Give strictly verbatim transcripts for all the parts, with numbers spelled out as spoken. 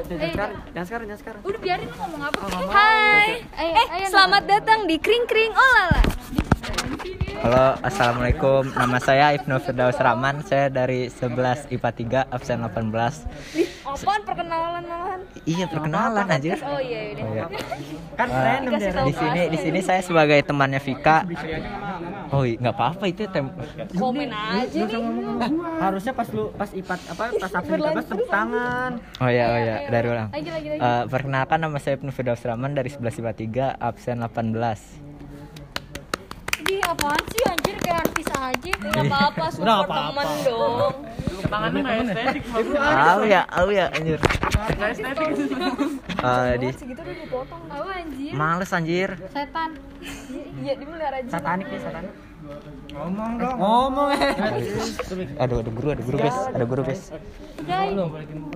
jangan sekarang, jangan sekarang, jangan sekarang. Udah biarin lu ngomong apa. Oh, Hai. Ayo, eh, ayo, selamat datang di Kring Kring Olala. Halo, assalamualaikum. Nama saya Ibnu Firdaus Rahman. Saya dari sebelas I P A tiga absen delapan belas. Apaan perkenalan malahan? Iya, perkenalan aja. Oh iya, iya. Oh, iya. Kan random Dikasih deh. tahu Di sini di sini saya sebagai temannya Vika. Oh, iya, nggak apa-apa itu tem. Komen aja nih. Harusnya pas lu pas I P A apa pas absen tiga belas tepuk tangan. Oh ya, oh ya, dari ulang. Lagi lagi lagi. Eh, perkenalkan nama saya Ibnu Firdaus Rahman dari sebelas I P A tiga absen delapan belas. Ini apaan sih anjir kayak artis aja. Enggak apa-apa, Udah, support apa-apa. teman dong. Tangannya nggak estetik, Tahu ya, tahu ya anjir. nggak estetik. Eh, di Segitu udah dipotong. Tahu anjir. males anjir. Setan. Iya, dimelihara aja. Satanik nih, satanik. Ngomong dong. Ngomong eh. Aduh, ada guru, ada guru guys, ada guru guys. Aduh.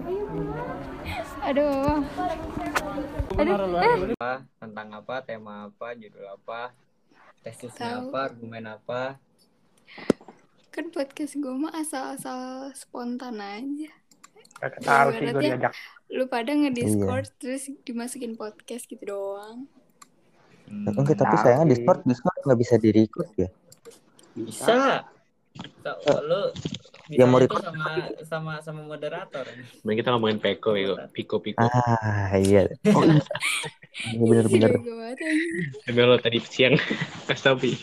Aduh. Aduh. Eh. Apa, tentang apa, tema apa, judul apa, tesisnya apa, argumen apa. Kan podcast gue mah asal-asal spontan aja. Kagak tahu sih gue Ibaratnya diajak. lu pada nge-discord terus dimasukin podcast gitu doang. Hmm, Enggak, tapi Nah, sayangnya oke. Discord Discord nggak bisa di-record ya. bisa. So, lu bisa Yang mau itu record sama sama sama moderator. Mending kita ngomongin Peko, Peko, Piko, Piko. Ah, iya. Oh, iya. Ini bener-bener. Gue banget aja. Tapi lo tadi siang kasih tau, Pi.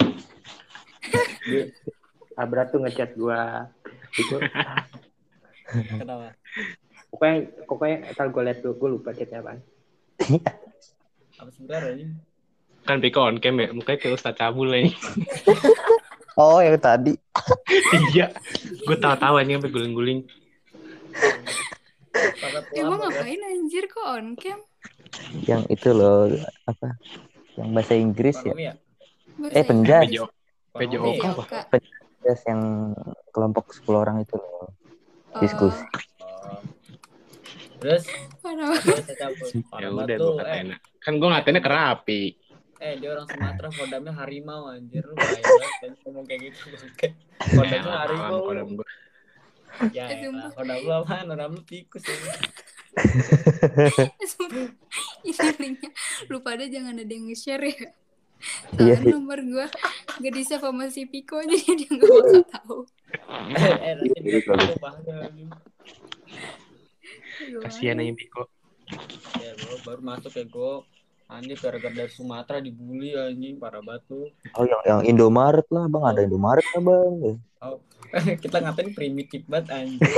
Abra tuh ngechat gue. Itu Kenapa? pokoknya pokoknya ntar gue liat dulu, gue lupa chatnya apaan. Apa sebenarnya ini? Kan Piko on cam ya, mukanya kayak Ustadz Cabul nih. Oh, yang tadi. Iya, gue tawa-tawa nih sampai guling-guling. Sangat Emang lama, kan? ngapain anjir kok on cam? Yang itu loh, apa? Yang bahasa Inggris ya. Ekonomi ya? Eh, penjas. Pejo, Pejo Ekonomi. apa? Kak. Penjas yang kelompok sepuluh orang itu loh. Diskusi. Oh. Terus Parah. bisa cabut. Ya Parah udah banget gue lu, eh. katain. Kan gue ngatain kerapi. Eh dia orang Sumatera, kodamnya harimau anjir. Lu bahaya banget kan ngomong kayak gitu. Kodamnya harimau. Kodam gue. Ya Eh, elah, sumpah. kodam lu apaan? Kodam lu tikus ya. Sumpah. Ini linknya lu pada jangan ada yang nge-share ya. Iya, Soalnya iya. nomor gue gak di save sama si Piko jadi dia gak bakal tahu. Eh nanti dia tahu bahaya. Kasihan aja Piko. Ya bro, baru masuk ya gue. Anjir gara-gara dari Sumatera dibully anjing, parah banget tuh. Oh, yang yang Indomaret lah, Bang. Ada Indomaret lah, Bang. Oh, kita ngatain primitif banget anjir.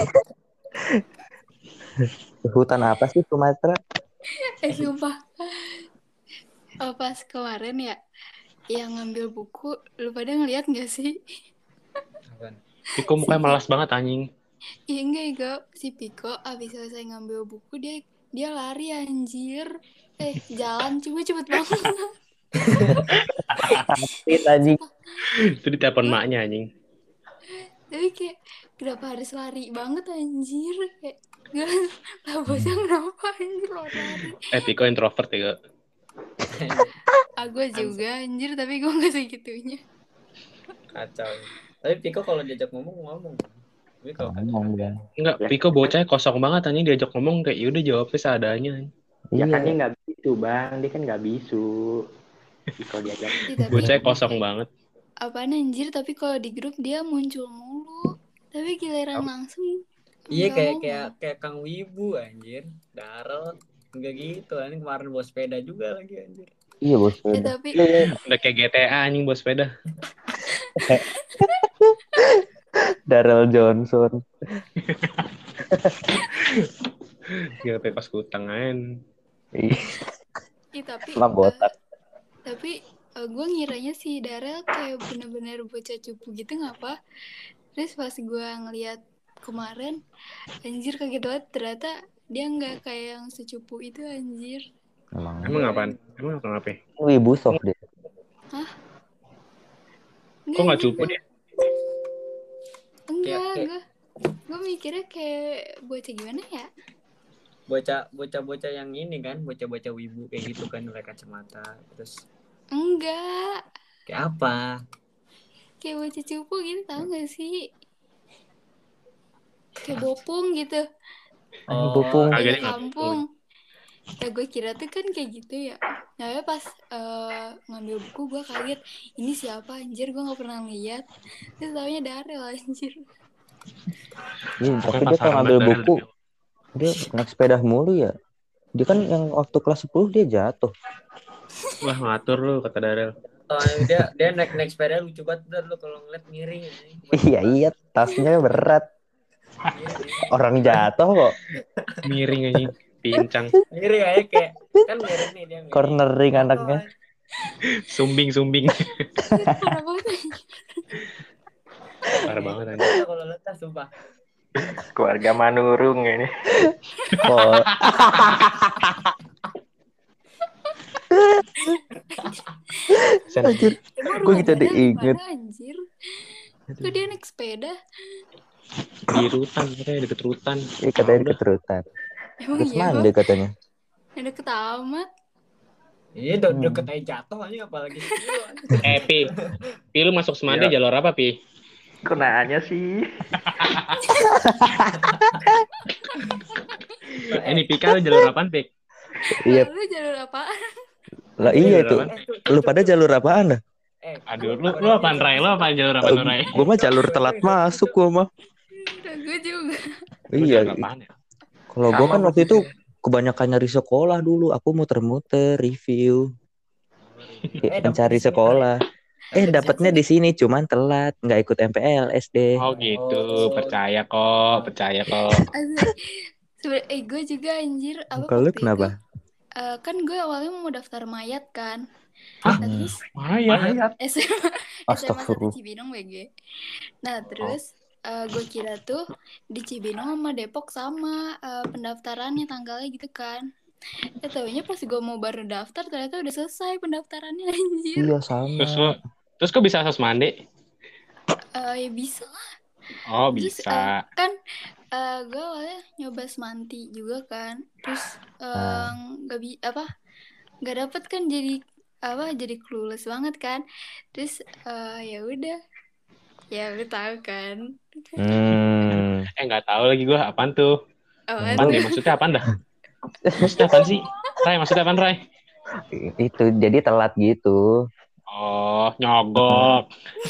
Hutan apa sih Sumatera? Eh sumpah. Oh, pas kemarin ya yang ngambil buku, lu pada ngeliat gak sih? Apaan? Piko mukanya malas banget anjing. Iya enggak ya, si Piko abis selesai ngambil buku dia dia lari anjir. Eh jalan cuma cepet banget. Tit anjing. Itu ditelepon maknya anjing. Tapi kayak kenapa harus lari banget anjir? Kayak gak lah bosnya kenapa anjir lo lari? Eh Piko introvert ya. Aku juga anjir tapi gue gak segitunya. Kacau. Tapi Piko kalau diajak ngomong ngomong. Tapi kalau kagak Ngomong, kagak. Bang. Enggak, Piko bocahnya kosong banget anjing, diajak ngomong kayak yaudah jawabnya seadanya. Ya kan dia Iya. nggak bisu bang, dia kan nggak bisu. Kalau diajak. Ih, tapi Bocahnya kosong banget. apaan anjir tapi kalau di grup dia muncul mulu. Tapi giliran langsung Iya nggak kayak mau. kayak kayak Kang Wibu anjir. Darel enggak gitu anjing, kemarin bawa sepeda juga lagi anjir. Iya, Bos. Eh, tapi Udah kayak G T A anjing bawa sepeda. Darrell Johnson. Gak kayak pas kutang aja. Iya, Ih, tapi Emang botak. eh, tapi gue ngiranya si Darel kayak bener-bener bocah cupu gitu ngapa. Terus pas gue ngeliat kemarin anjir kaget banget ternyata dia nggak kayak yang secupu itu anjir. Emang. Emang apaan? Emang apa ngapain? Wibu soft deh. Kok nggak cupu dia? Enggak, Kayak- gue gue mikirnya kayak bocah gimana ya? Bocah bocah-bocah yang ini kan, bocah-bocah wibu kayak gitu kan, pakai kacamata. Terus Enggak, kayak apa? kayak bocah cupu gitu tau gak sih? Kayak bopung gitu. Anjing bopung. Agak Dari dia nggak kampung. Ya gue kira tuh kan kayak gitu ya. Nah pas uh, ngambil buku gue kaget, ini siapa anjir, gue gak pernah lihat. Terus taunya Darel anjir. Iya, tapi dia kalau ngambil buku dia naik sepeda mulu ya. Dia kan yang waktu kelas sepuluh dia jatuh. Wah ngatur lu kata Darel. Oh, dia dia naik naik sepeda lucu banget lu kalau ngeliat miring. Iya iya, tasnya berat. Orang jatuh kok. Miring aja, pincang. Miring aja kayak kan miring nih dia. Miring. Cornering anaknya. Sumbing sumbing. Parah banget. Parah banget anjing. Kalau letas sumpah. Keluarga Manurung ini. Oh. Anjir, gue kita diinget. Anjir, kok dia naik sepeda? Di rutan katanya deket rutan. Iya katanya deket rutan. Emang Terus iya mandi katanya. Yang deket amat. Iya udah deket aja jatuh aja apalagi. Eh Pi, Pi lu masuk Semade jalur apa Pi? Kok nanya sih? Eh ini Pika lu jalur apaan Pik? Iya. Lu jalur apaan? Lah iya tuh. Lu pada jalur apaan dah? Eh, Aduh, lu lu apaan Rai? Lu apaan jalur apaan Rai? Gue mah jalur telat masuk gue mah. Gue juga. Iya. Apaan ya? Kalau gue kan waktu itu kebanyakan nyari sekolah dulu. Aku muter-muter review. Mencari sekolah. Eh dapatnya di sini cuman telat, nggak ikut M P L S D. Oh gitu, percaya kok, percaya kok. Sebenernya eh gue juga anjir apa Kalau waktu kenapa? itu, uh, kan gue awalnya mau daftar mayat kan. Hah? Nah, terus Mayat. S M A S M A satu Astagfirullah. Cibinong W G. Nah terus uh, gue kira tuh di Cibinong sama Depok sama uh, pendaftarannya tanggalnya gitu kan. Ya taunya pas gue mau baru daftar ternyata udah selesai pendaftarannya anjir. Iya sama. Terus lu, terus kok bisa Sosmande? Uh, ya bisa lah. Oh Terus, bisa. uh, kan uh, gue awalnya nyoba semanti juga kan. Terus uh, nggak bi apa nggak dapet kan jadi apa jadi clueless banget kan. Terus uh, ya udah ya lu tahu kan. Hmm. Eh nggak tahu lagi gue apaan tuh. Oh, Apaan deh maksudnya apaan dah? Maksudnya apaan sih? Rai maksudnya apaan Rai? Itu jadi telat gitu. Oh nyogok.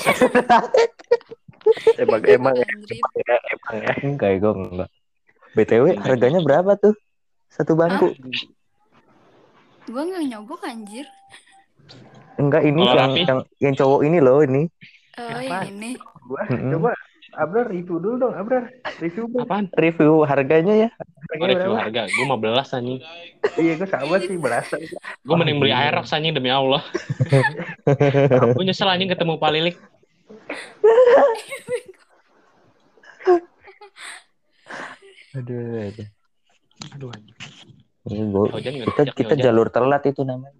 Emang emang ya, Anjrit. ya, emang ya. Enggak, gue enggak. B T W harganya berapa tuh? Satu bangku? Gue nggak nyogok anjir. Enggak, ini Oh, yang, Raffi? yang yang cowok ini loh ini. Oh Apaan? ini. Gua Mm-mm. coba Abrar review dulu dong, Abrar. Review dong. Apaan? Review harganya ya. Oh, Harganya review berapa? harga. Gue lima belas anjing. Iya, gue sama sih belasan. Gue mending beli Aerox anjing demi Allah. Gue nyesel anjing ketemu Palilik. Aduh, aduh. Aduh anjing. Ini gua, Hujan nggak kita diajak, kita hujan. jalur telat itu namanya.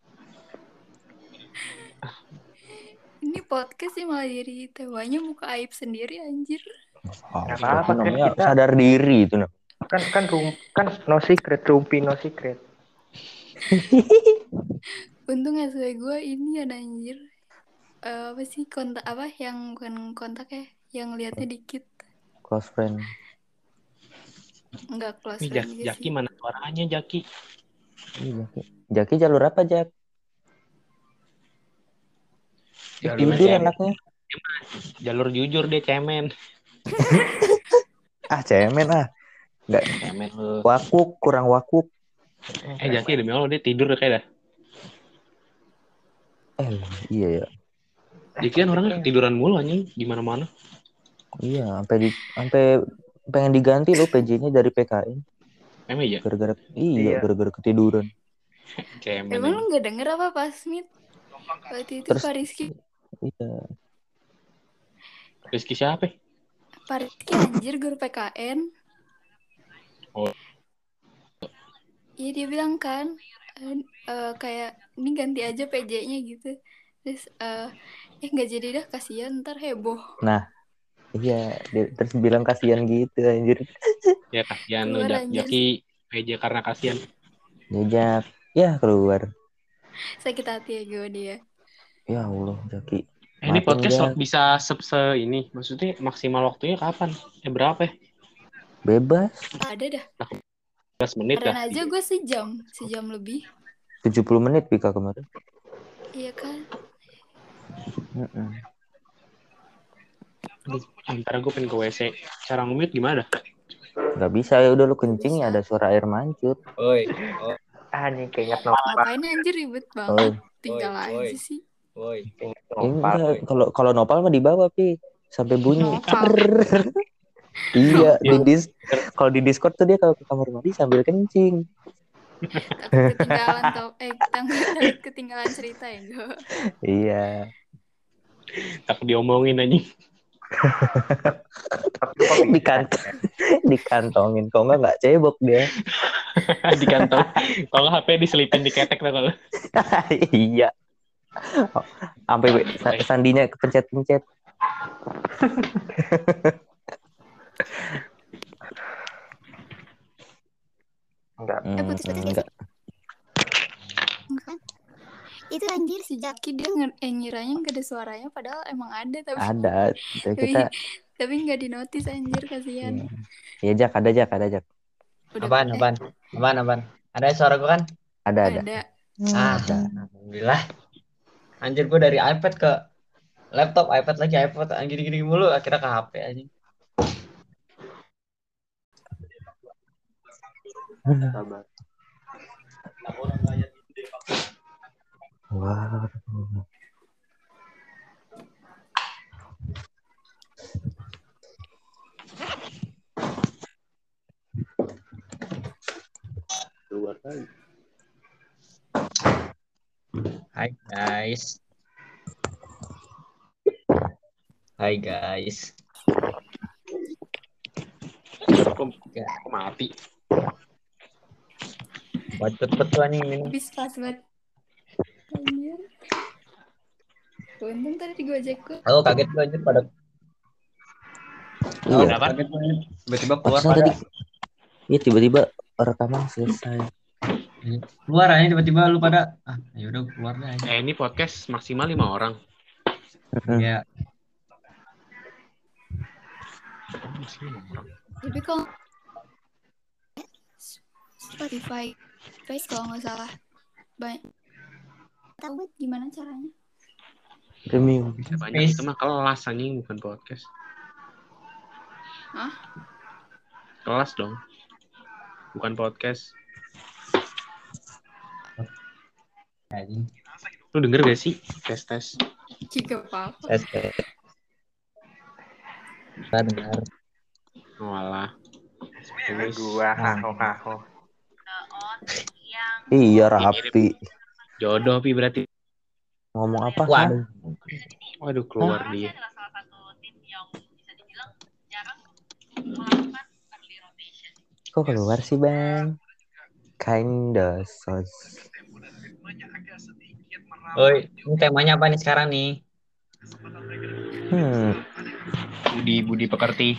Ini podcast sih malah jadi tewanya muka aib sendiri anjir. Oh, Nggak itu apa-apa, kan namanya kita- sadar diri itu nah. Kan kan rum kan no secret, rumpi no secret. Untung S W gue ini ada anjir. Eh, apa sih kontak apa yang bukan kontak ya, yang liatnya dikit. Close friend. Enggak close Nih friend Jak- juga Jaki sih. mana suaranya Jaki? Iya, Jaki. Jaki jalur apa, Jak? Jalur Jujur cemen. anaknya. Jalur jujur dia cemen. Ah, cemen ah. Enggak Cemen lu. wakuk, kurang wakuk. Eh Jaki demi Allah dia tidur kayak dah. Eh, iya ya. Jaki kan orangnya ketiduran mulu anjing di mana-mana. Iya, sampai di sampai pengen diganti loh P J-nya dari P K I. Emang iya? Gara-gara iya, Iya. gara-gara ketiduran. Cemen. Emang lu anjing. nggak denger apa pas Smith? Waktu itu Terus- Pak Rizky, Iya. Rizky siapa? Pak Rizky anjir guru P K N. Oh. Iya dia bilang kan, eh, eh, kayak ini ganti aja P J-nya gitu. Terus eh eh nggak jadi dah, kasihan ntar heboh. Iya, dia terus bilang kasihan gitu anjir. Ya kasihan lu Keluar Jak- anjir. Jaki P J karena kasihan. Jejak. Ya keluar. Sakit hati ya gue dia. Ya Allah, Jaki. Eh, ini Maafin, podcast Jak. bisa se, se ini, maksudnya maksimal waktunya kapan? Eh berapa ya? Bebas. Ada dah. belas menit Kemarin dah. aja gue sejam, sejam lebih. tujuh puluh menit Pika kemarin. Iya kan? Mm-mm. Antara gue pengen ke W C. Cara nge-mute gimana? Nggak bisa ya udah lu kencing ya ada suara air mancur. Oi, oh, Ah, nih keinget Nopal. Ngapain anjir ribet Oh, banget. Tinggal Oi, oi. aja sih. woi. Keinget ini Nopal. enggak kalau kalau nopal mah di bawah Pi sampai bunyi. Nopal. Iya, di Nopal. dis kalau di Discord tuh dia kalau ke kamar mandi sambil kencing. Takut ketinggalan tau. Eh, takut takut ketinggalan cerita ya enggak? Iya. Takut diomongin anjing. Dikant dikantongin kok enggak enggak cebok dia. Di kantong. Kalau H P diselipin di ketek tuh kalau. Iya. Sampai sa- sandinya kepencet-pencet. Enggak. Hmm, putus-putus enggak. Kan? Itu anjir Si Jaki dia nge- eh, ngiranya nggak ada suaranya padahal emang ada tapi Ada. Kita tapi, kita tapi nggak dinotis anjir kasihan. Iya Jak, ada Jak, ada Jak. Udah Apaan, eh, apaan? Apaan, apaan? Ada suara gue kan? Ada ada. ada. Ah, alhamdulillah. Anjir gue dari iPad ke laptop, iPad lagi iPad, gini-gini mulu, akhirnya ke H P anjing. Sabar. Wah. Keluar lagi. Hai guys. Hai guys. Kok mati? Bacot betul anjing minum. Habis pas banget. Anjir. Untung tadi di Gojek gue. Aku kaget gue anjir pada. Iya. Oh, kaget gue anjir. Tiba-tiba keluar Pantesan pada. tadi. Iya tiba-tiba rekaman selesai. Keluar aja tiba-tiba lu pada. Ah, ya udah keluar deh aja. Eh ini podcast maksimal lima orang. Iya. Tapi kalau Spotify, Face kalau nggak salah, banyak. Tahu banget gimana caranya? Premium. Bisa banyak itu mah kelas anjing bukan podcast. Hah? Kelas dong. Bukan podcast. Anjing. Lu denger gak sih? Tes tes. Jika apa-apa. Tes tes. Kita dengar. Walah. Terus Gua haho haho. Iya rapi. jodoh Pi berarti. Ngomong apa? Waduh. Waduh keluar dia. Kok keluar sih Bang? Kinda sos. Oi, ini temanya apa nih sekarang nih? Hmm. Budi Budi pekerti.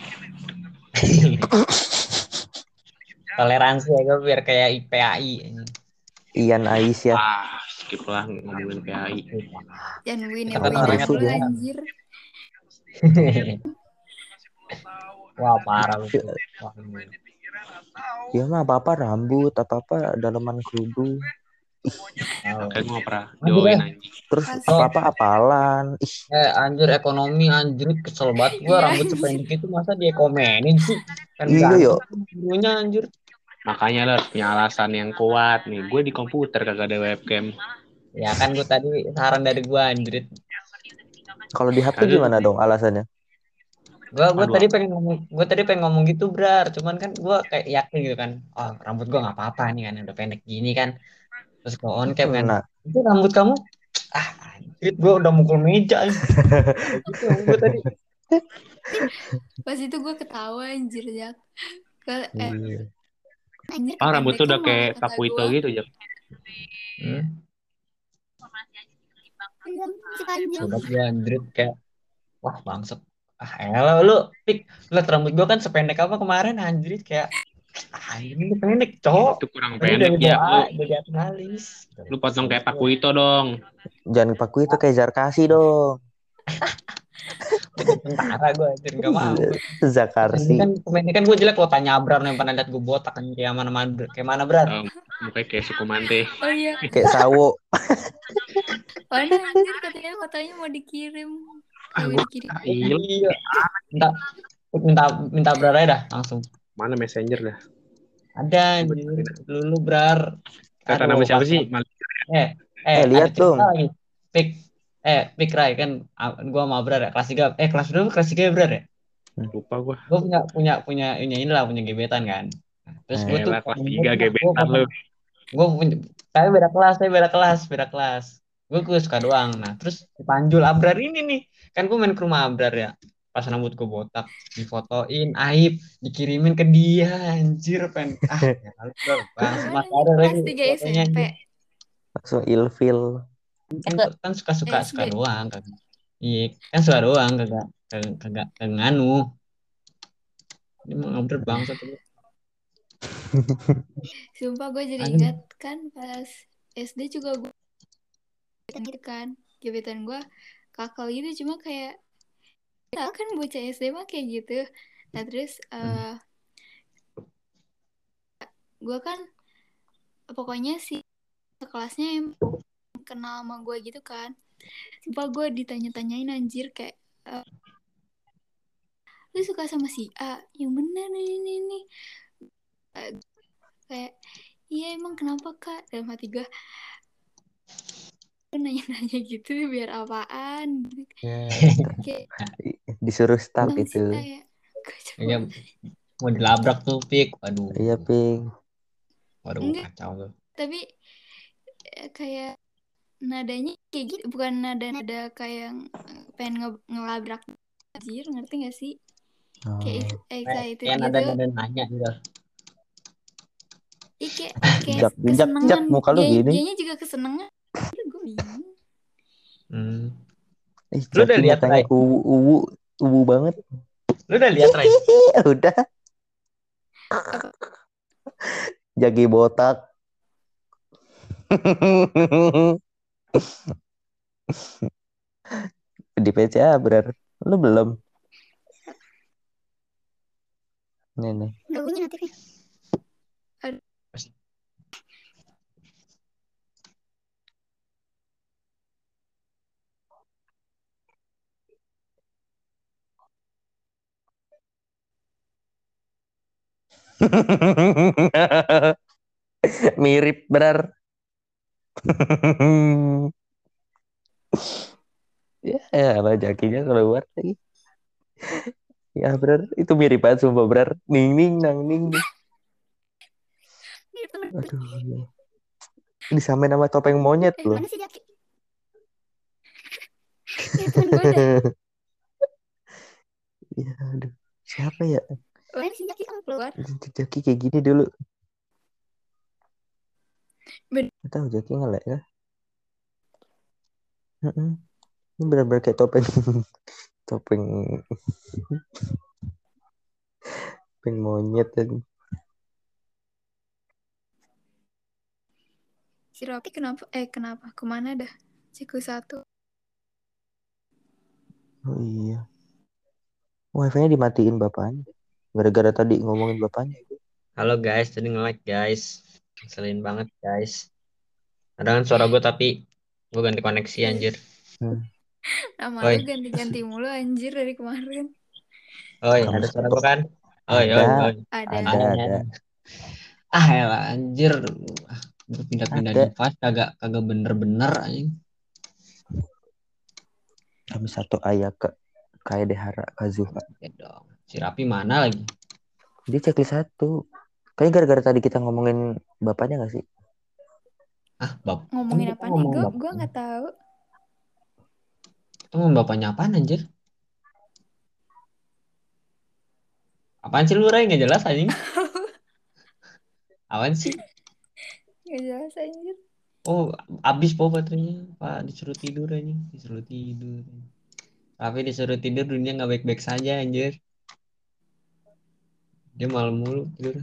Toleransi ya gue biar kayak I P A I. Ian Aisyah. Ah, skip lah ngomongin P A I. Jangan win Kita kan win orangnya dulu tuh, anjir. Wah parah lu. Wah, Ya mah apa-apa rambut, apa-apa dalaman kerudung. Kayak gue gak pernah Aduh, join deh. anjing. Terus Asli. apa-apa apalan. Ih, Eh anjir ekonomi anjir kesel banget gua Iya. rambut sependek itu masa dia komenin sih kan Iya, ganteng yo. dulunya anjir. Makanya lo harus punya alasan yang kuat nih. Gue di komputer kagak ada webcam. Ya kan gua tadi saran dari gua anjir. kalau di H P Kagak. gimana dong alasannya? Gua gua Aduh. tadi pengen ngomong gua tadi pengen ngomong gitu brar cuman kan gua kayak yakin gitu kan oh rambut gua nggak apa-apa nih kan udah pendek gini kan terus gua on cam kan Nah, itu rambut kamu ah anjir gua udah mukul meja anjir. Kayak gitu rambut gua tadi. Pas itu gue ketawa anjir Jak. Ke, eh, iya. anjir, Ah rambut tuh kependekan udah malah kayak kata Takuito gua. gitu Jak. Hmm. si panjang. Sobat gua anjir kayak wah bangsat ah elah lu pik liat rambut gua kan sependek apa kemarin anjir kayak ah ini pendek cowok Itu kurang tadi pendek dari ya. doa Lu, dari analis lu potong kayak Takuito dong. Jangan paku itu kayak Zarkasi dong. Jadi tentara gue anjir nggak mau. Ini Zakarsi. kan pemainnya kan gue jelek lo tanya Abrar yang pernah lihat gue botak kan kayak mana mana kayak mana Brar. Um, mukanya kayak Sukomante. Oh iya, Kayak sawo. mana anjir katanya fotonya mau dikirim. Ah, Kagak gua dikirim. ah, iya. Iya. Minta minta minta Brar aja dah langsung. Mana messenger dah? Ada anjir. Dulu Brar. Kata Aduh, nama siapa pas- sih? Mal- Eh, eh, Eh, lihat ada cerita dong. lagi. Pik, eh, Pik Rai kan, ah, gua sama Abrar ya, kelas tiga, eh kelas berapa? Kelas tiga ya Brar ya? Lupa gua. Gue punya punya punya ini inilah punya gebetan kan. Nah, terus gue tuh Elah, kelas gue tiga gebetan lu. gue punya, saya beda kelas, saya beda kelas, beda kelas. Gue gue suka doang. Nah, terus dipanjul Abrar ini nih, kan gue main ke rumah Abrar ya. Pas rambut gue botak, difotoin, aib, dikirimin ke dia, anjir, pen. Ah, ya, lalu, Brar, bang, Mana masih nih ada lagi kelas tiga fotonya, S M P? anjir. Langsung ilfil. Kan, kan suka-suka S D. suka doang, kagak. Iya, kan suka doang, kagak kagak kagak kagak nganu. Ini mau Abrar bangsa tuh. Sumpah gue jadi Anjing. ingat kan pas S D juga gue gitu kan. Gebetan gue kakak gitu cuma kayak ya kan bocah S D mah kayak gitu. Nah terus uh, gue kan pokoknya si kelasnya yang kenal sama gue gitu kan. Sumpah gue ditanya-tanyain anjir kayak uh, lu suka sama si A? Yang bener nih ini ini. Uh, kayak iya emang kenapa kak? Dalam hati gue nanya-nanya gitu biar apaan gitu. Kayak Disuruh start bang itu. Sita ya. Iya, mau dilabrak tuh Pik. Waduh. Iya, Ping. Waduh, Enggak. kacau tuh. Tapi eh, kayak nadanya kayak gitu, bukan nada-nada kayak eh, pengen nge ngelabrak anjir, ngerti gak sih? Oh. Kayak excited Kayak gitu. nada-nada nanya gitu. Ih, kayak, Jak, kayak jak, kesenangan. jak, muka lu Dia, gini. dianya juga kesenangan. Gue bingung. Hmm. Ih, Lu udah Jaki lihat, mukanya Rai? uwu, uwu, uwu banget. Lu udah lihat Rai? Udah. Jaki botak. Di P C A berar. Lu belum? Nih nih. Gak punya notifnya. Mirip berar. Ya, apa Jakinya keluar lagi. Ya berar, itu mirip banget sumpah berar. Ning ning nang ning. Aduh. Disamain sama topeng monyet Eh, loh. mana sih Jaki? Ya, temen gue dah. Ya, aduh. Siapa ya? Mana sih Jaki kamu keluar? Jaki kayak gini dulu. Ben- Gak tahu Jaki ngelek ya. Mm-mm. Ini benar-benar kayak topeng topeng topeng monyet tadi. Si Rocky kenapa? Eh kenapa? Kemana dah? Ciku satu. Oh iya. Wifi-nya dimatiin bapaknya. Gara-gara tadi ngomongin bapaknya. Halo guys, tadi nge-like guys. Ngeselin banget guys. Ada kan suara gue tapi gue ganti koneksi anjir. Hmm. Nama Oi. lu ganti-ganti mulu anjir dari kemarin. Oi, Kamu ada suara stop. gue kan? Oi, Ada. oi, oi. Ada. Ada, ada. Ah, elah anjir. Ah, gue pindah-pindah Ada. device kagak kagak bener-bener anjing. Kami satu ayah ke kayak Dehara Kazuha. Ya dong. Si Rapi mana lagi? Dia checklist satu. Kayaknya gara-gara tadi kita ngomongin bapaknya gak sih? Ah, bap. Ngomongin Kan kita apa nih? ngomong Gue bap- gue nggak tahu. Kita ngomong bapaknya apaan anjir? Apaan sih lu Ray? Nggak jelas anjing. Apaan sih? Gak jelas anjir. Oh, abis po baterainya. Pak disuruh tidur anjing, disuruh tidur. Tapi disuruh tidur dunia nggak baik-baik saja anjir. Dia malam mulu tidur.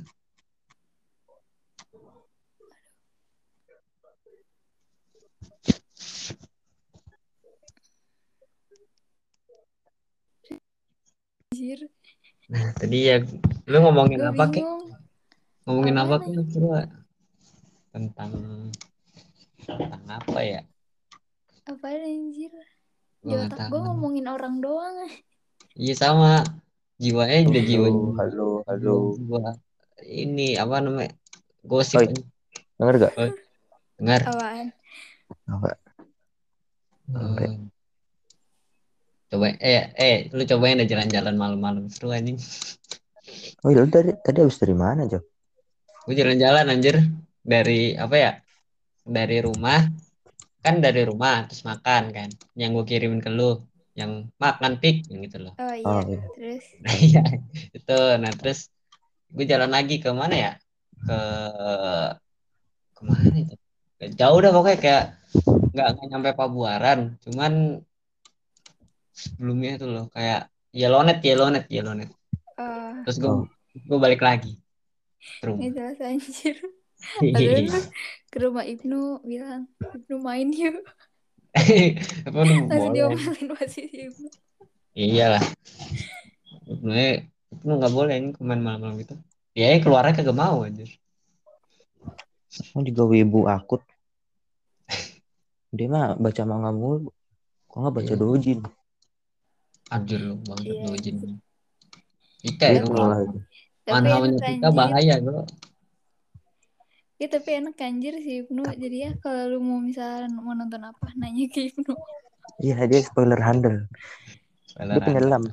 anjir. Nah, tadi ya lu ngomongin Gue apa, Kek? bingung. Ngomongin apa, Apaan Kek? Coba tentang tentang apa ya? Apaan anjir? Di Gua nggak otak gue tahu. ngomongin orang doang. Iya sama. Jiwanya udah jiwa Halo, halo, halo. jiwa ini apa namanya? Gosip Oi, aja. denger gak? Oh, dengar. Apaan? Enggak. Sampai. Oh, coba eh eh lu cobain deh jalan-jalan malam-malam seru anjing. Oh, lu tadi tadi habis dari mana, Jok? Gue jalan-jalan anjir dari apa ya? Dari rumah kan dari rumah terus makan kan. Yang gue kirimin ke lu yang makan pik yang gitu loh. Oh Oh, iya, iya. terus Iya itu. Nah terus gue jalan lagi ke mana ya? Ke kemana itu? Jauh dah pokoknya kayak nggak nggak nyampe Pabuaran, cuman sebelumnya itu loh kayak Yellownet, Yellownet, Yellownet. eh Terus gue Oh. gue balik lagi ke ini rumah. jelas anjir. Ada lu ke rumah Ibnu bilang, Ibnu main yuk. Apa udah Langsung boleh? diomelin pasti si Ibnu. Iyalah. Sebenarnya itu nggak boleh ini main malam-malam gitu. Ya keluarnya kagak mau anjir. Oh, juga wibu akut. Dia mah baca manga mulu. Kok nggak baca Iya. dojin? Anjir lu banget Iya, dojin. anjir. Kita Dia ya tuh kalau malah itu. Tapi manhawanya enak kita anjir. bahaya bro. Ya tapi enak anjir si Ibnu. Jadi ya kalau lu mau misalnya mau nonton apa, nanya ke Ibnu. Iya, dia spoiler handle. Dia Spoiler penyelam.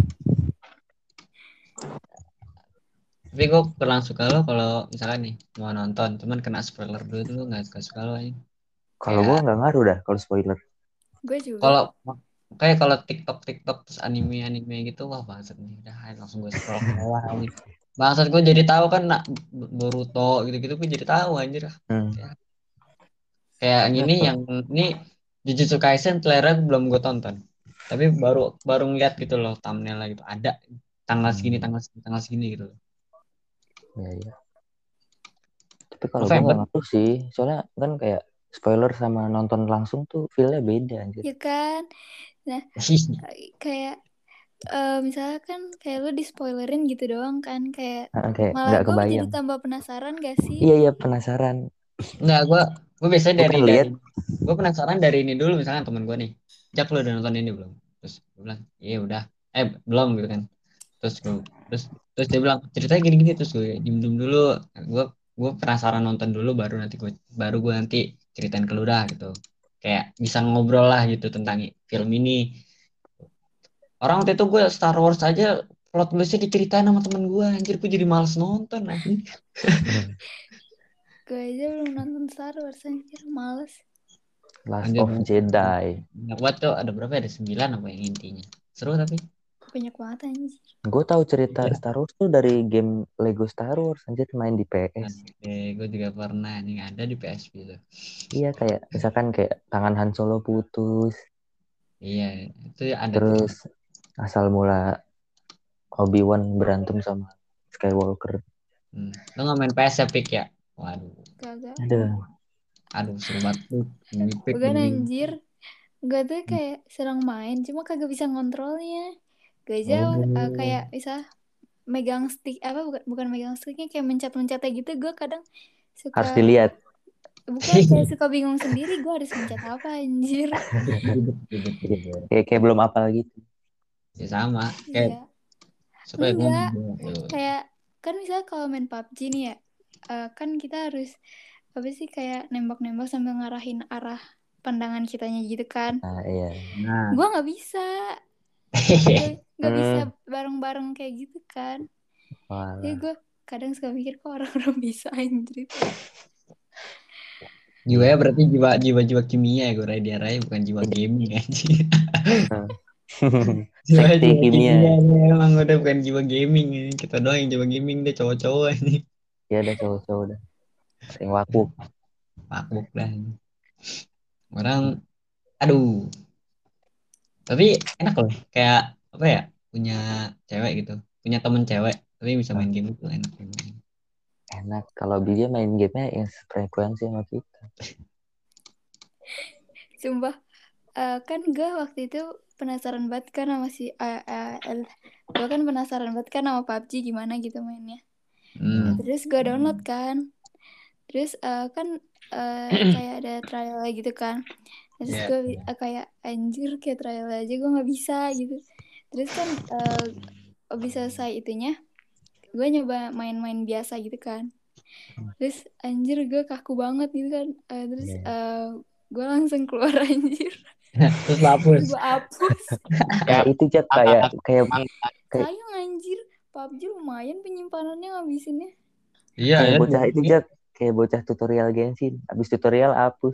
Tapi gue kurang suka lo kalau misalnya nih mau nonton, cuman kena spoiler dulu tuh nggak suka suka lo aja. Kalau Kayak gua nggak ngaruh dah kalau spoiler. Gue juga. kalau kayak kalau TikTok TikTok terus anime anime gitu wah bangsat nih udah ayo langsung gue scroll ke bawah aja. Bangsat gue jadi tahu kan nak Boruto gitu-gitu gue jadi tahu anjir. Hmm. Kayak, kayak gini yang ini Jujutsu Kaisen trailer belum gue tonton. Tapi baru baru ngeliat gitu loh thumbnail gitu ada tanggal segini tanggal segini tanggal segini gitu loh. Ya, ya. Tapi kalau gue nggak ngaruh sih, soalnya kan kayak spoiler sama nonton langsung tuh feel-nya beda anjir. Ya kan? Nah, kayak uh, misalnya kan kayak lu di spoilerin gitu doang kan, kayak, nah, kayak malah gue kebayang. jadi tambah penasaran gak sih? Iya iya penasaran. Enggak, gue gue biasanya Gua dari kan dari liat. gue penasaran dari ini dulu misalkan temen gue nih, Jak lu udah nonton ini belum? Terus gue bilang iya udah, eh belum gitu kan. Terus gue terus terus dia bilang ceritanya gini-gini terus gue diem diem dulu, gue gue penasaran nonton dulu baru nanti gue baru gue nanti ceritain ke lu dah gitu. Kayak bisa ngobrol lah gitu tentang film ini. Orang waktu itu gue Star Wars aja plot twistnya diceritain sama temen gue, anjir gue jadi males nonton anjir. Gue aja belum nonton Star Wars anjir, males. Last Anjir, of Jedi. Banyak banget tuh, ada berapa ya? Ada sembilan apa yang intinya. Seru tapi. Banyak banget anjir. Gue tahu cerita Iya. Star Wars tuh dari game Lego Star Wars anjir main di P S. Eh, gue juga pernah nih ada di P S P tuh. Iya kayak misalkan kayak tangan Han Solo putus. Iya, itu ada. Terus tuh. Asal mula Obi-Wan berantem sama Skywalker. Hmm. Lo nggak main P S ya, Pik ya? Waduh. Kagak. Aduh. Aduh, seru banget tuh. Bukan anjir. Gue tuh kayak serang main, cuma kagak bisa ngontrolnya. Gue aja Oh. uh, kayak bisa megang stick apa bukan bukan megang sticknya kayak mencet-mencetnya gitu. Gue kadang suka harus dilihat. Bukan kayak suka bingung sendiri gue harus mencet apa anjir. kayak kayak belum apal gitu. Ya sama. Kayak Iya. supaya Enggak. gue Kayak kan misalnya kalau main P U B G nih ya, uh, kan kita harus apa sih kayak nembak-nembak sambil ngarahin arah pandangan kitanya gitu kan. Nah, iya. Nah. Gue nggak bisa. Gak bisa bareng-bareng kayak gitu kan. Walah. Jadi gue kadang suka mikir kok orang-orang bisa anjir. Jiwanya berarti jiwa jiwa jiwa kimia ya gue dia Rai bukan jiwa gaming anjir. jiwa Sekti jiwa kimia. kimia emang udah bukan jiwa gaming ini. Kita doang yang jiwa gaming deh cowok-cowok ini. Ya udah cowok-cowok udah. Yang wakuk. Wakuk lah. Orang aduh. Tapi enak loh kayak apa ya punya cewek gitu punya temen cewek tapi bisa main game itu enak enak kalau dia main gamenya yang frekuensi sama kita. Sumpah uh, kan gue waktu itu penasaran banget kan sama si uh, uh, gue kan penasaran banget kan sama P U B G gimana gitu mainnya. Hmm. Nah, terus gue download kan. Terus uh, kan uh, kayak ada trial gitu kan. Terus Yeah. gue uh, kayak anjir kayak trial aja gue nggak bisa gitu. Terus kan uh, abis selesai itunya gue nyoba main-main biasa gitu kan. Terus anjir gue kaku banget gitu kan. Uh, terus uh, gue langsung keluar anjir. Terus lo hapus. Terus gue hapus. Nah, itu Cak kayak kayak kayak Sayang anjir. P U B G lumayan penyimpanannya ngabisinnya. Iya kayak ya. bocah itu Cak kayak bocah tutorial Genshin. Habis tutorial hapus.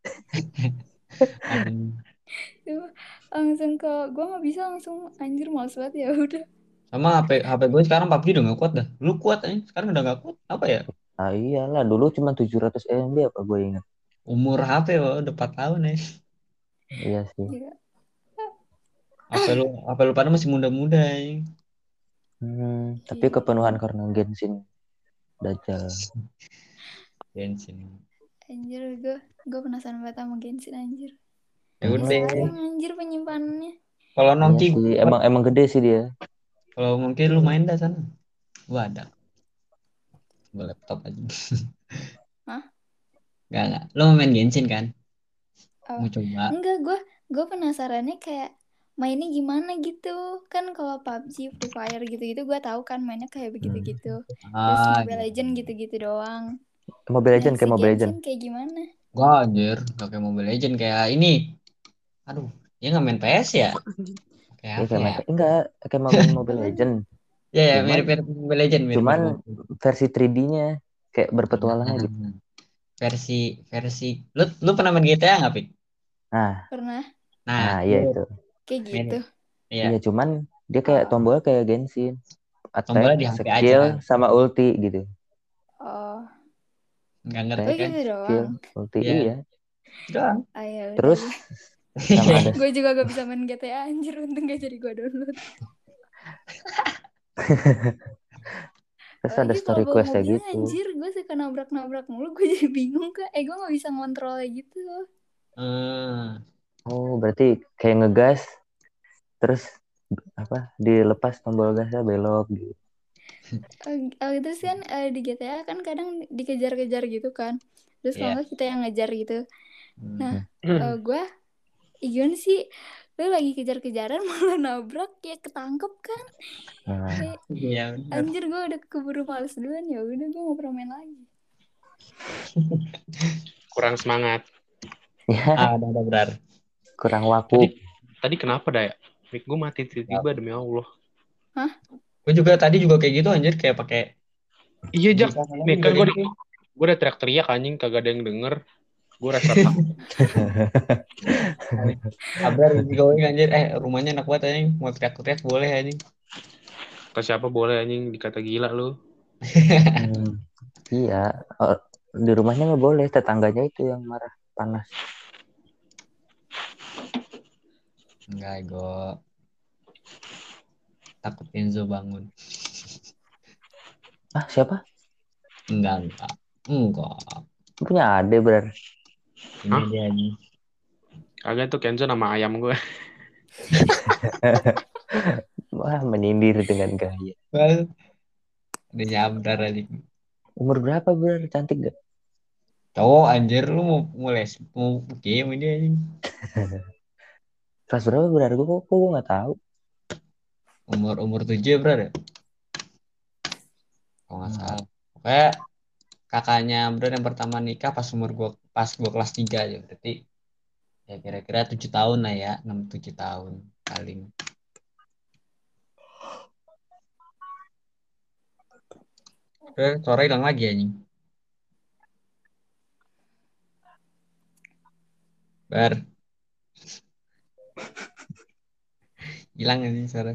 Langsung ke gue nggak bisa langsung anjir males banget ya udah. Sama H P H P gue sekarang P U B G udah gak kuat dah. Lu kuat aja, sekarang udah gak kuat. Apa ya? Ah iyalah, dulu cuma tujuh ratus M B apa gue ingat. Umur H P wah, udah empat tahun ya. Iya sih. Gila. H P lu H P lu pada masih muda-muda ya. Hmm, tapi kepenuhan karena Genshin Dajjal. Genshin. Anjir gue gue penasaran banget sama Genshin anjir. Ya udah. Sayang anjir penyimpanannya. Kalau Iya Nongki sih, emang emang gede sih dia. kalau mungkin lu main dah sana. Gua ada. Gua laptop aja. Hah? Enggak enggak. Lu mau main Genshin kan? Oh. Mau coba. Enggak, gue gue penasarannya kayak mainnya gimana gitu. Kan kalau P U B G, Free Fire gitu-gitu gue tahu kan mainnya kayak begitu-gitu. Terus Ah, Mobile gitu. Legend gitu-gitu doang. Mobile Legend Nah, kayak si Mobile Genshin Legend. kayak gimana? Gua anjir, gak kayak Mobile Legend kayak ini. Aduh, dia nggak main P S ya? Kayak Ya, apa kayak ya? main, enggak, kayak mau main Mobile Legend. Ya, ya Cuman- mirip-mirip Mobile Legend, mirip Cuman versi tiga D-nya kayak berpetualangan gitu. versi versi lu lu pernah main G T A nggak, Pik? Nah, Pernah Nah, nah iya itu. kayak gitu. Iya. Iya, cuman dia kayak tombolnya kayak Genshin. Tombolnya Attack, di H P skill, aja. sama ulti gitu. Oh, Nggak oh ngerti kan? gitu Skill, doang. ulti, Iya. iya. Doang. Ayo, Terus sama ada gue juga gak bisa main G T A anjir, untung gak jadi gue download. terus ada Lagi story kalau bawa quest kayak mobil gitu. anjir, gue suka nabrak-nabrak mulu, gue jadi bingung kak. Eh gue gak bisa ngontrolnya gitu. Hmm. Oh, berarti kayak ngegas terus apa? Dilepas tombol gasnya belok gitu. Uh, terus kan uh, di G T A kan kadang dikejar-kejar gitu kan. Terus kalau Iya. nggak kita yang ngejar gitu. Hmm. Nah, uh, gue Igun sih lu lagi kejar-kejaran malah nabrak ya ketangkep kan. Nah, Kayak, Iya, benar. anjir gue udah keburu males duluan, ya udah gue nggak pernah main lagi. Kurang semangat. ya Ah, ada ada benar. kurang Tadi, waku. tadi kenapa dah ya? Mic gue mati tiba-tiba demi Allah. Gue juga tadi juga kayak gitu anjir, kayak pakai Iya, Jak. Bisa ngomong Nih kan gue gitu. gue udah teriak-teriak anjing, kagak ada yang denger. Gue rasa takut. Abrar going anjir, eh rumahnya enak banget anjing, mau teriak-teriak boleh anjing. Ke siapa boleh anjing dikata gila lu. Hmm, iya, oh, di rumahnya nggak boleh, tetangganya itu yang marah panas. Enggak, Go. Takut Enzo bangun. Ah, siapa? Enggak, enggak. Enggak. Punya ade bener. Ini Hah? dia nih. Kagak tuh Kenzo nama ayam gue. Wah, menyindir dengan gaya. Well, udah nyamdar anjing. Umur berapa bener? Cantik gak? Cowok anjir, lu mau mau les mau game ini anjing. Kelas berapa bener? Gue kok gue nggak tahu. Umur umur tujuh berapa? Kalau nggak salah. Pokoknya kakaknya Bro yang pertama nikah pas umur gua pas gua kelas tiga aja, berarti ya kira-kira tujuh tahun lah ya, enam tujuh tahun paling. Oke, sore hilang lagi anjing. Bar. Hilang anjing sore.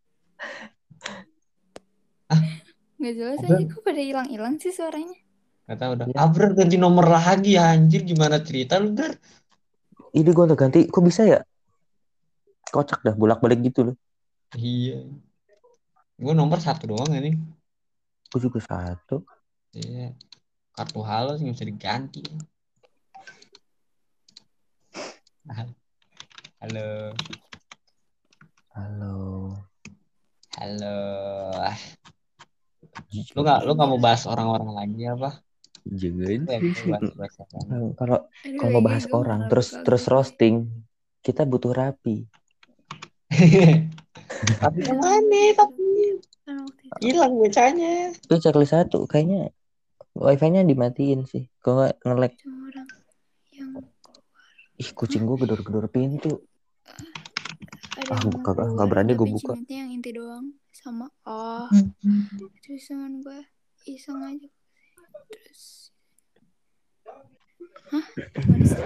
Nggak jelas Abrar. aja, kok pada hilang-hilang sih suaranya. Gak tau udah. Ya. Abrar ganti nomor lagi anjir, gimana cerita lu, Brar? Ini gue udah ganti, kok bisa ya? Kocak dah, bolak-balik gitu loh. Iya. Gue nomor satu doang anjing. Gue juga satu. Iya. Kartu halo sih nggak bisa diganti. Halo. Halo. Halo. Lu nggak lu nggak mau bahas orang-orang lagi apa? Jangan. Lu yang mau bahas bahas apa? Kalau Aduh, kalau kayaknya bahas gue orang terlalu terus kagum terus deh. roasting, kita butuh rapi. Tapi Kan kemana? Tapi kan waktu itu hilang bocahnya. Itu checklist satu kayaknya wifi-nya dimatiin sih. Kalau nggak nge-lag. cuma orang yang Ih, kucing gua gedor-gedor pintu. ada Ah, yang gua mau kagak nggak keluar berani gua tapi buka. cimitnya yang inti doang sama oh terus teman gue iseng aja terus hah gimana sih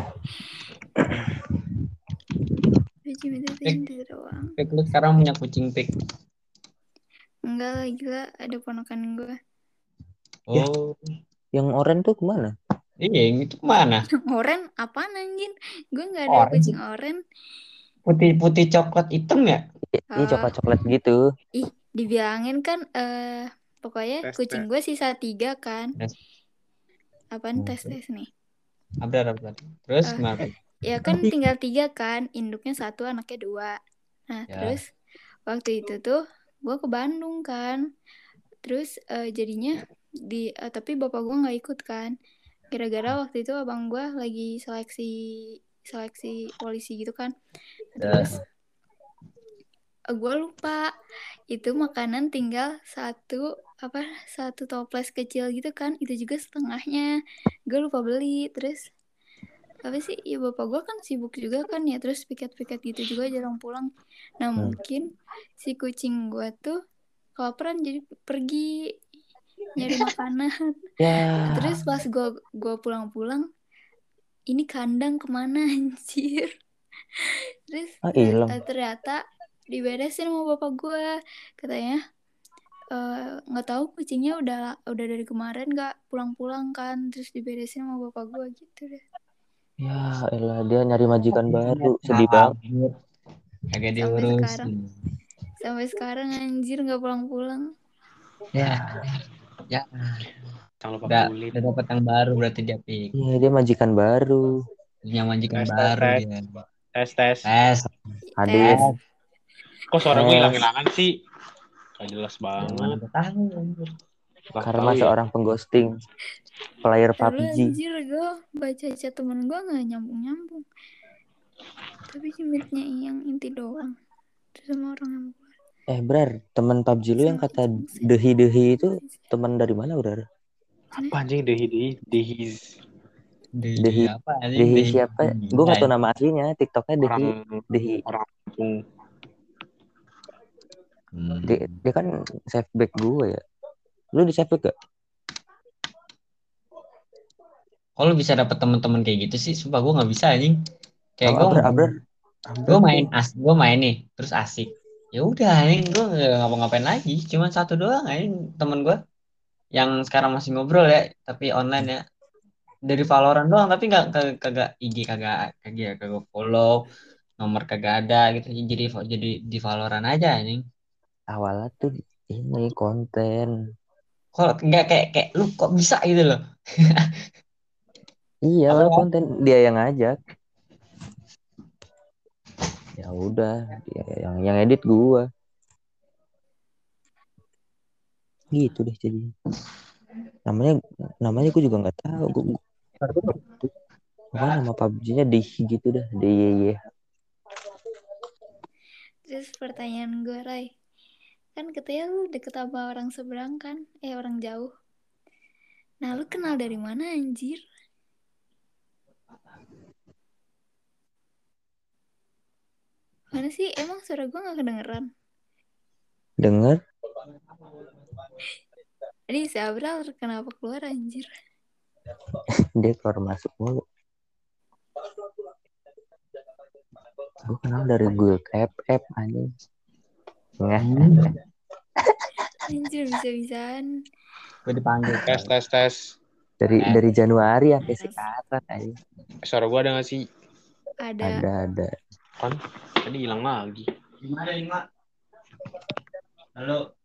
tapi cimitnya tuh Pik, inti doang Pik, lu sekarang punya kucing Pik. enggak lah gila ada ponakan gue Ya. Oh, Yang oranye tuh kemana? iya yang itu kemana? yang oren apaan anjing gue nggak ada Orange. kucing oren Putih-putih coklat hitam ya? Iya Ah, coklat-coklat gitu. ih dibilangin kan eh pokoknya Tes, kucing tes. gue sisa tiga kan Tes. apaan tes tes nih Abrar, abrar. Terus Eh, gimana? Pik? ya kan tinggal tiga kan induknya satu anaknya dua nah Ya. terus waktu itu tuh gue ke Bandung kan terus eh, jadinya di eh, tapi bapak gue nggak ikut kan gara-gara waktu itu abang gue lagi seleksi seleksi polisi gitu kan terus eh, gue lupa itu makanan tinggal satu apa satu toples kecil gitu kan itu juga setengahnya gue lupa beli terus apa sih ya bapak gue kan sibuk juga kan ya terus piket-piket gitu juga jarang pulang nah Hmm. mungkin si kucing gue tuh kelaparan jadi pergi nyari makanan Ya. terus pas gue gue pulang-pulang ini kandang kemana anjir terus Ah, eh, hilang. eh, ternyata diberesin sama bapak gue katanya eh, nggak tahu kucingnya udah udah dari kemarin nggak pulang-pulang kan terus diberesin sama bapak gue gitu deh Ya elah dia nyari majikan baru. Sedih banget. Kagak sampai sekarang diurusin. sampai sekarang anjir nggak pulang-pulang Ya, ya. Jangan lupa Udah, kulit. udah dapat yang baru berarti dia Pik. Iya dia majikan baru. Punya majikan Tes, tes, baru tes. dia. Tes, tes. Tes. Hadir. tes Kok suara gue Tes. hilang-hilangan sih? Gak jelas Yang mana banget. gue tahu anjir. Gak Karena tahu ya. seorang pengghosting player P U B terus G. anjir gue baca chat temen gue nggak nyambung-nyambung tapi cimitnya yang inti doang terus sama orang yang Eh Brar, teman P U B G lu yang sama kata Jungse. dehi-dehi itu teman dari mana Brar? Apa anjing dehi dehi dehiz Dehi, Dehi, apa anjing? Dehi siapa? Gue gak tau Gila, nama aslinya. TikToknya Dehi. orang Dehi. orang kampung. Hmm. Dia, dia kan save back gue ya. Lu di save back gak? Kok lu bisa dapet teman-teman kayak gitu sih? Sumpah gue nggak bisa anjing. Kayak gue Abrar, Abrar. gue main as gue main nih terus asik. Ya udah anjing gue nggak ngapa-ngapain lagi. Cuman satu doang anjing temen gue yang sekarang masih ngobrol ya tapi online ya dari Valorant doang tapi nggak kagak kagak I G kagak kagak kagak follow nomor kagak ada gitu jadi jadi di Valorant aja anjing. Awalnya tuh ini konten. Kok nggak kayak kayak lu kok bisa gitu loh. Iya, Apa awal ya? konten dia yang ngajak. Ya udah, dia yang yang edit gua. Gitu deh jadi. Namanya namanya gua juga nggak tahu. Gua, gua, apa nama P U B G-nya Dehi gitu dah. D Y Y. terus pertanyaan gue Rai kan katanya lu deket sama orang seberang kan eh orang jauh nah lu kenal dari mana anjir mana sih emang suara gue nggak kedengeran Dengar? ini si Abral kenapa keluar anjir Dia keluar masuk mulu. Gue kenal dari Google App App anjing. Nggak. anjir bisa-bisaan Gue dipanggil Tes tes tes. Dari Eh. dari Januari sampai sekarang anjing. Suara gue ada gak sih? ada Ada ada. Kan tadi hilang lagi. lima ada lima. Halo.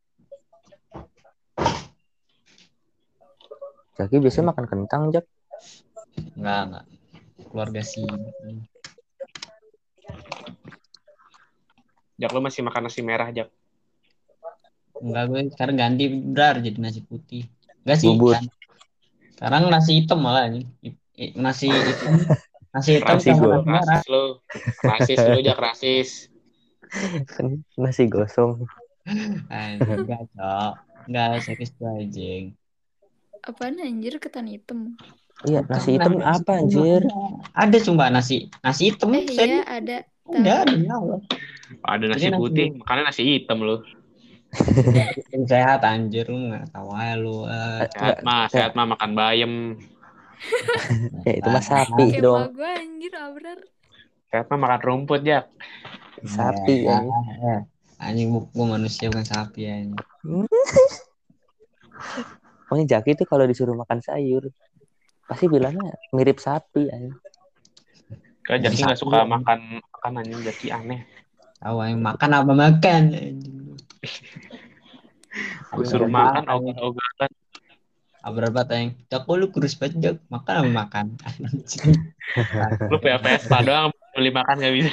Jaki biasanya makan kentang, Jak. Enggak enggak. Keluarga sih. Jak lu masih makan nasi merah, Jak. Enggak, gue sekarang ganti brar jadi nasi putih. Enggak sih Bubur. kan. Sekarang nasi hitam malah ini. I- i- Nasi hitam, nasi hitam Rasis sama lu, nasi merah. rasis lu. Rasis lu, Jak, rasis. Kan nasi gosong. Anjing, enggak, Cok. Enggak, serius gue anjing. Apaan anjir ketan hitam? Iya, Bukan nasi hitam nasi apa hitam, anjir? Ada, ada sumpah nasi nasi hitam, Eh iya serius. ada. Ada, Tahu. demi Allah. Ada Jadi nasi nasi putih, makannya nasi hitam lu. yang sehat anjir, lu nggak tahu aja lu. eh. Eh, Sehat enggak, mah, kayak sehat mah makan bayam. ya itu mah sapi Kayak dong. emak gue anjir Abrar. Sehat mah makan rumput, Jak. Sapi Ya, ya. eh. Anjing, gue manusia bukan sapi anjing. Pokoknya Jaki itu kalau disuruh makan sayur pasti bilangnya mirip sapi ya. Kan Jaki nggak Sapi, suka anjing. makan makanan yang Jaki aneh. Tahu yang makan apa makan anjing. Gue suruh makan ogah-ogahan. Abrar banget yang Cok, kok lu kurus banget, Cok? Makan apa makan? Anjing. Lu P P S doang beli makan nggak bisa.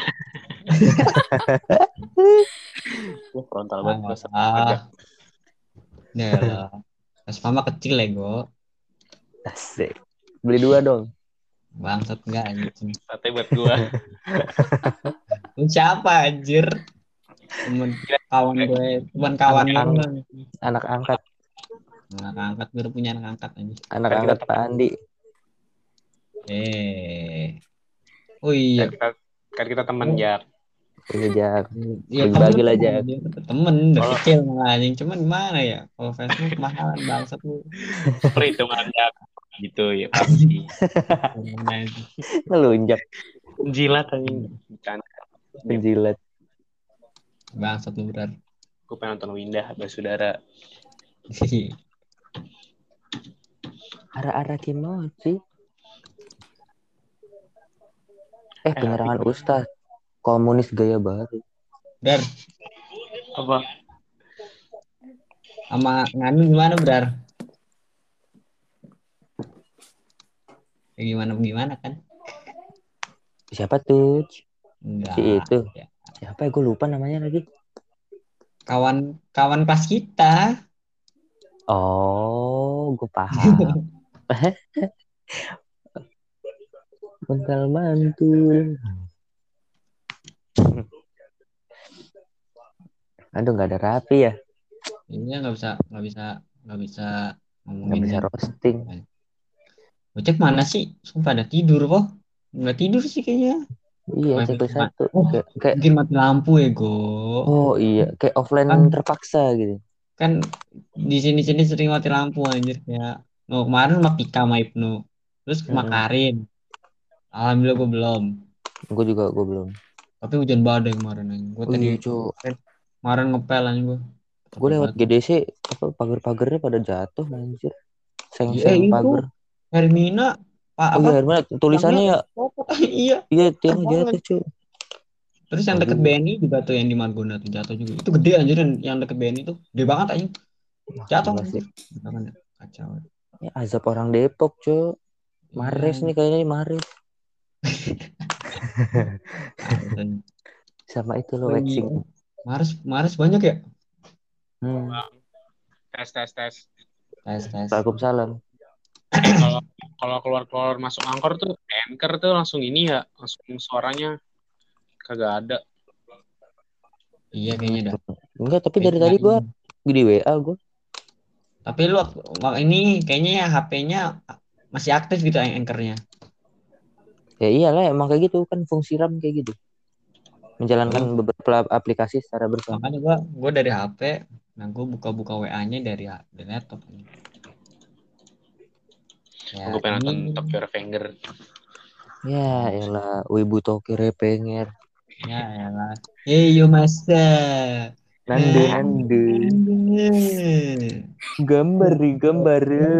Lu frontal banget gue sama Ah, Jak. ya lah. Vespa mah kecil ya, Go. Asik. Beli dua dong. Bangsat enggak anjing. Sate buat gua. Lu siapa anjir? Temen kawan gue, teman kawan Anak lu. ang- anak angkat, Anak angkat, gue udah punya anak angkat anjir. anak Kan kita angkat Pak Andi. Eh. Oh iya. Kan kita, kan kita temen, Jak. Iya Jak. Iya, Bagi-bagi temen, lah, temen, Jak. anjir. Temen, udah Kalau- kecil malah anjing. Cuman gimana ya? Kalau Facebook kemahalan bangsat lu. Perhitungan, Jak. Gitu ya pasti. Ngelunjak Jilat anjing. Bercanda. penjilat. Bangsat lu benar. Gue pengen nonton Windah Basudara. Ara-ara kimochi. Eh penyerangan Ustadz. Komunis gaya baru. Brar, Apa? sama Nganu gimana, Brar? Ya gimana gimana kan? Siapa tuh? Enggak. Si itu. Ya. Siapa ya? Gue lupa namanya lagi. Kawan kawan kelas kita. Oh, gue paham. Bental mantul. Aduh, nggak ada rapi ya. Ini nggak bisa nggak bisa nggak bisa ngomongin. Nggak bisa roasting. Bocek mana sih? Sumpah ada tidur kok. Nggak tidur sih kayaknya. Iya, Mati- satu satu. Oh, Kayak, kayak Mungkin mati lampu ya, Go. oh iya, kayak offline Kan- terpaksa gitu. Kan di sini-sini sering mati lampu anjir kayak. Oh, kemarin sama Pika sama Ibnu. Terus sama Mm-mm. Karin. Alhamdulillah gue belum. Gue juga gue belum. Tapi hujan badai kemarin anjing. Gue Oh tadi iya, Cuk. kemarin ngepel anjing gue. Gue lewat G D C, apa pagar-pagarnya pada jatuh anjir. Eh, Seng-seng itu pagar. Hermina Pak Oh apa? iya, Herman, tulisannya ya, Iya. iya tiang Banget. jatuh, Cuk. Terus yang deket Aduh. B N I juga tuh yang di Margonda tuh jatuh juga. Itu gede anjir yang, yang deket B N I tuh. Gede banget anjing. Jatuh Gila sih. anjir. Beneran ya, kacau. Ya, azab orang Depok, Cuk. Mares Iya. nih kayaknya nih Mares. Anjing. Sama itu lo Oh, iya. waxing. Mares Mares banyak ya? Hmm. Tes tes tes. Tes tes. Waalaikumsalam. Kalau kalau keluar-keluar masuk angkor tuh anchor tuh langsung ini ya, langsung suaranya kagak ada. Iya kayaknya dah. Enggak, tapi dari tadi gua di W A gua. Tapi lu ini kayaknya ya H P-nya masih aktif gitu anchor-nya. Ya iyalah emang kayak gitu kan fungsi RAM kayak gitu. Menjalankan beberapa aplikasi secara bersama. Makanya gua gua dari H P, nah gua buka-buka W A-nya dari, dari laptop. Ya, Gue pengen nonton ini- Tokyo Revenger. Ya elah Wibu Tokyo Revenger. Ya elah. Eh yo masa. Nandu Eh. nandu. Eh. Gambar nih gambar.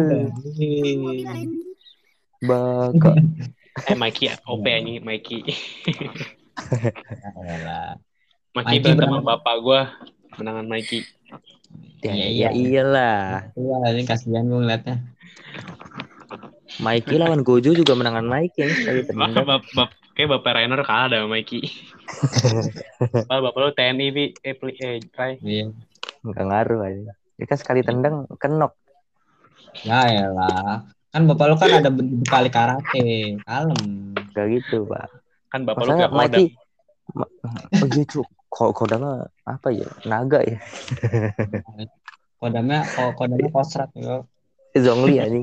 Baka. Eh Mikey O P anjing Mikey. Ya elah. Mikey Mikey berantem sama berantem. bapak gue. Menangan Mikey. Ya, Iya, ya iya. iyalah. Iya, ini kasihan gue ngeliatnya. Mikey lawan Gojo juga menangan Mikey yang sekali Bap, tendang. bap, bap, kayak Bapak Rainer kalah dah sama Mikey. Bapak, bapak lu T N I, Bi. Eh, pli, eh, Rai. Iya. Nggak ngaruh aja. Dia kan sekali tendang kenok. Ya elah. Kan bapak lu kan ada bekali karate. Kalem. Gak gitu, Pak. Kan bapak lu Masalah kayak Kodam. Mikey. Ma- oh iya, Cuk. Kok kodamnya apa ya? Naga ya? Kodamnya kok kodamnya kosrat yo. Zongli anjing.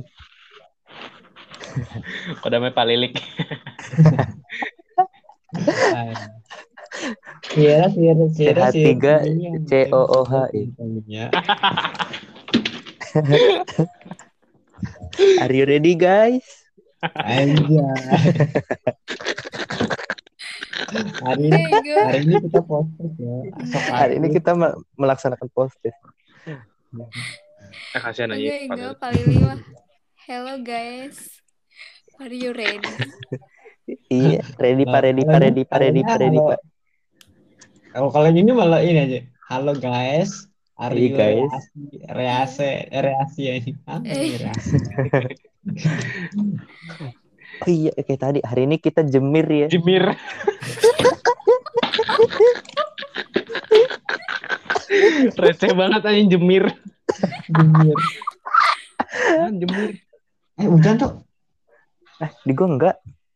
Kodamnya palilik. Sierra Sierra Sierra Sehat tiga, C O O H I. Are you ready, guys? Aja. Hari ini, Bego. hari ini kita posting ya. Sok Hari ini kita me- melaksanakan posting. Eh, kasihan aja. Oke, enggak paling lima. Hello guys. Are you ready? Iya, ready pak, ready pak, ready pak, ready pak, ready pak. Kalau kalau gini malah ini aja. Halo guys. Hari Hey, guys. rease rease rease ya ini. Apa ini rease? Oh iya, kayak tadi hari ini kita jemir ya. Jemir. Receh banget anjing jemir. Jemir. Ah, jemir. Eh hujan tuh. Eh, di gua enggak.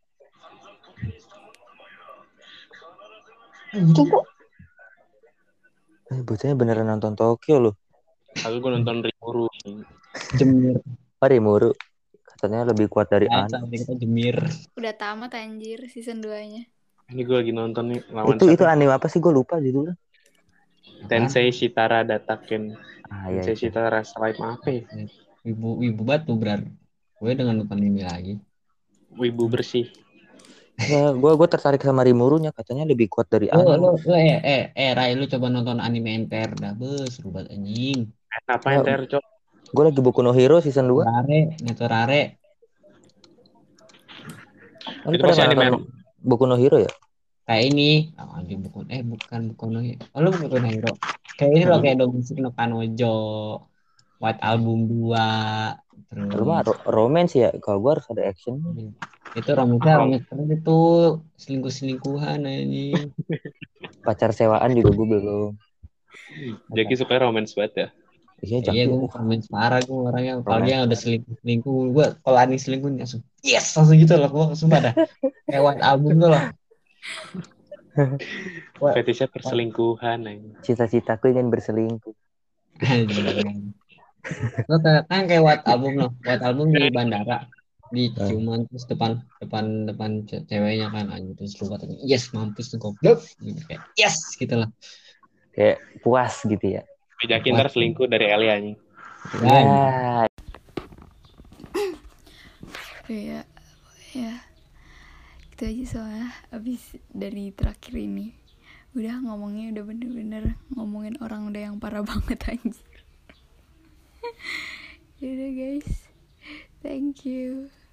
Eh hujan tuh. Eh, bocahnya beneran nonton Tokyo loh. Aku gue nonton Rimuru. Jemir. Oh, Rimuru. Katanya lebih kuat dari Nah, An. kita jemir. Udah tamat anjir season dua-nya. Ini gue lagi nonton nih lawan Itu itu siapa? anime apa sih? Gue lupa judulnya. Tensei Shitara Dataken. Ah iya. Tensei iya. Shitara Slime apa ya? Ibu ibu batu berar. Gue dengan nonton ini lagi. Wibu bersih. Ya, gue gue tertarik sama Rimurunya. Katanya lebih kuat dari Lo An. lo lo eh eh eh Rai lu coba nonton anime M T R dah, bes seru banget anjing. Apa Ya, yang ter, Cok? Gue lagi Boku no Hero season dua. Rare, Netorare. Oh, lu Itu pada masih nonton anime. Boku no Hero ya? Kayak ini, oh, anjing bukan eh bukan bukan no Hero. Oh, lu bukan no Hero. Kayak ini loh kayak Domestic no Kanojo, White Album dua, terus Lu mah ro- romance ya. Kalau gue harus ada action. itu romitnya romit terus itu selingkuh-selingkuhan anjing. Pacar sewaan juga gue belum. Jaki suka romance banget ya. Iya, Iya, Jaki. gue romance parah gue orangnya. Apalagi Romance. yang udah selingkuh-selingkuh, gue kalau anjing selingkuh langsung yes langsung gitu loh, gue sumpah dah. Kayak White Album tuh loh. Fetishnya perselingkuhan anjing. Cita-citaku ingin berselingkuh. Lo kan kayak White Album loh, White Album di bandara, di ciuman terus depan depan depan ce- ceweknya kan anjing terus lu katanya yes mampus tuh goblok gitu, kayak yes gitu lah. Kayak puas gitu ya. Jaki ntar selingkuh dari Elia anjing. Ya, Ya, ya. Itu aja soalnya abis dari terakhir ini. Udah ngomongnya udah bener-bener ngomongin orang udah yang parah banget anjir. Yaudah guys. Thank you.